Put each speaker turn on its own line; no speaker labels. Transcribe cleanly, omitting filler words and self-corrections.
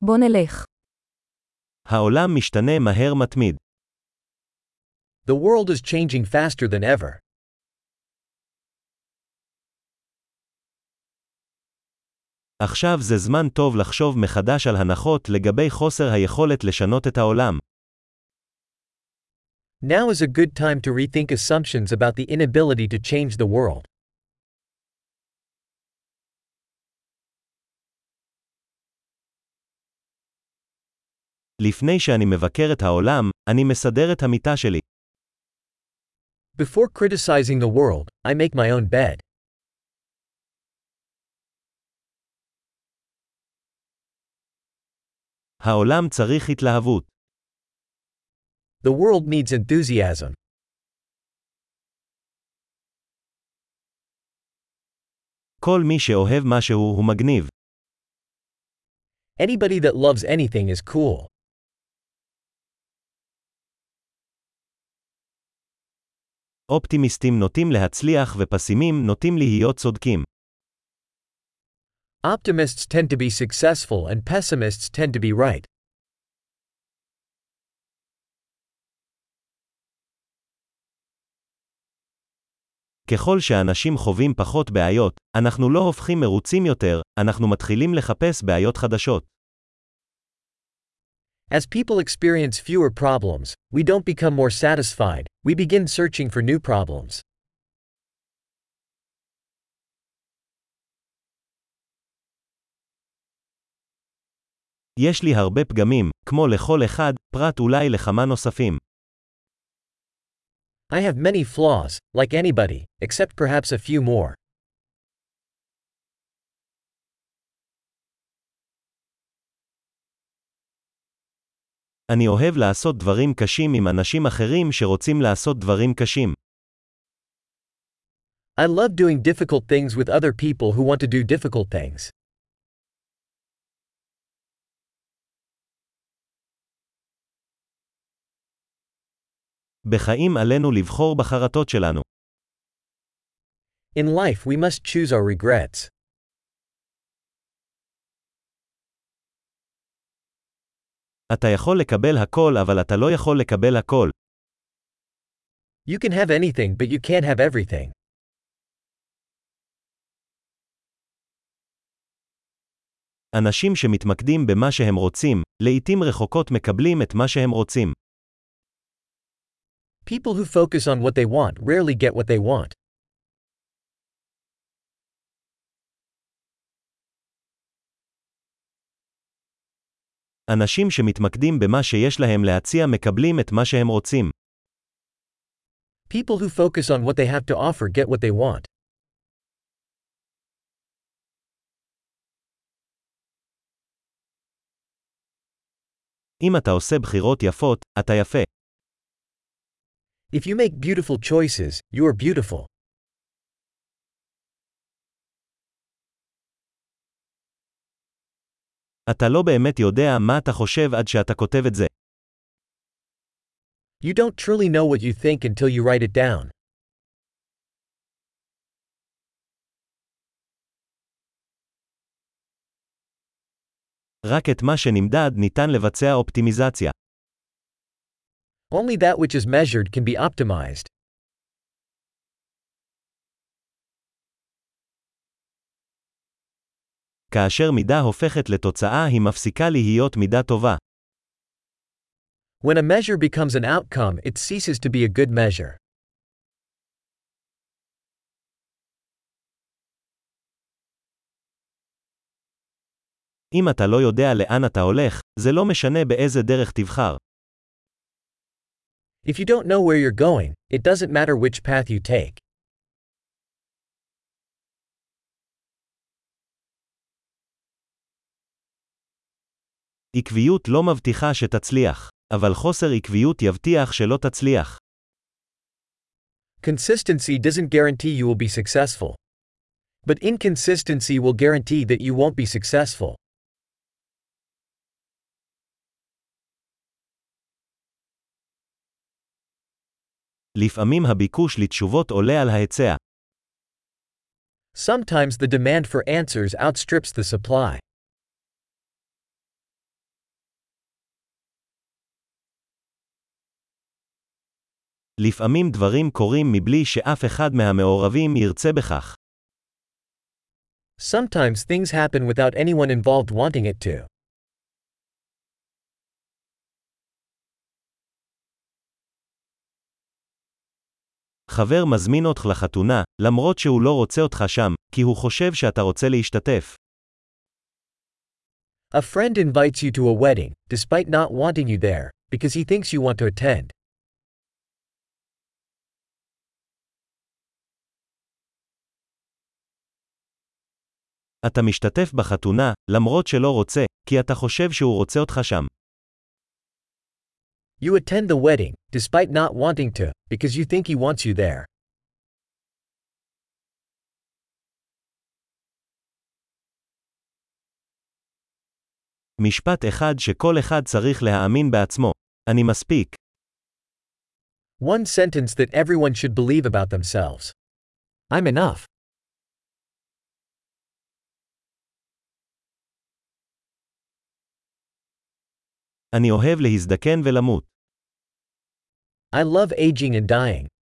בוא נלך.
העולם משתנה מהר מתמיד.
The world is changing faster than ever.
עכשיו זה זמן טוב לחשוב מחדש על הנחות לגבי חוסר היכולת לשנות את העולם.
Now is a good time to rethink assumptions about the inability to change the world.
לפני שאני מבקר את העולם, אני מסדר את המיטה שלי.
Before criticizing the world, I make my own bed.
העולם צריך התלהבות.
The world needs enthusiasm.
כל מי שאוהב משהו הוא מגניב.
Anybody that loves anything is cool.
אופטימיסטים נוטים להצליח ופסימים נוטים להיות צודקים.
Optimists tend to be successful and pessimists tend to be right.
ככל שאנשים חווים פחות בעיות, אנחנו לא הופכים מרוצים יותר, אנחנו מתחילים לחפש בעיות חדשות.
As people experience fewer problems, we don't become more satisfied, we begin searching for new problems.
יש לי הרבה פגמים, כמו לכל אחד, פרט אולי לכמה נוספים.
I have many flaws, like anybody, except perhaps a few more.
אני אוהב לעשות דברים קשים עם אנשים אחרים שרוצים לעשות דברים קשים.
I love doing difficult things with other people who want to do difficult things.
בחיים עלינו לבחור בחרטות שלנו.
In life we must choose our regrets.
אתה יכול לקבל הכל אבל אתה לא יכול לקבל הכל.
You can have anything but you can't have everything.
אנשים שמתמקדים במה שהם רוצים, לעתים רחוקות מקבלים את מה שהם רוצים.
People who focus on what they want rarely get what they want.
אנשים שמתמקדים במה שיש להם להציע מקבלים את מה שהם רוצים.
People who focus on what they have to offer get what they want.
אם אתה עושה בחירות יפות, אתה יפה.
If you make beautiful choices, you are beautiful.
אתה לא באמת יודע מה אתה חושב עד שאתה כותב את זה.
You don't truly know what you think until you write it down.
רק את מה שנמדד ניתן לבצע אופטימיזציה.
Only that which is measured can be optimized.
כאשר מידה הופכת לתוצאה היא מפסיקה להיות מידה טובה.
When a measure becomes an outcome, it ceases to be a good measure.
אם אתה לא יודע לאן אתה הולך, זה לא משנה באיזה דרך תבחר.
If you don't know where you're going, it doesn't matter which path you take.
עקביות לא מבטיחה שתצליח, אבל חוסר עקביות יבטיח שלא תצליח.
Consistency doesn't guarantee you will be successful. But inconsistency will guarantee that you won't be successful.
לפעמים הביקוש לתשובות עולה על ההיצע.
Sometimes the demand for answers outstrips the supply.
לפעמים דברים קורים מבלי שאף אחד מהמעורבים ירצה בכך.
Sometimes things happen without anyone involved wanting it to.
חבר מזמין אותך לחתונה, למרות שהוא לא רוצה אותך שם, כי הוא חושב שאתה רוצה להשתתף.
A friend invites you to a wedding, despite not wanting you there, because he thinks you want to attend.
אתה משתתף בחתונה, למרות שלא רוצה, כי אתה חושב שהוא רוצה אותך שם.
You attend the wedding, despite not wanting to, because you think he wants you there.
משפט אחד שכל אחד צריך להאמין בעצמו. אני מספיק.
One sentence that everyone should believe about themselves. I'm enough.
אני אוהב להזדקן ולמות.
I love aging and dying.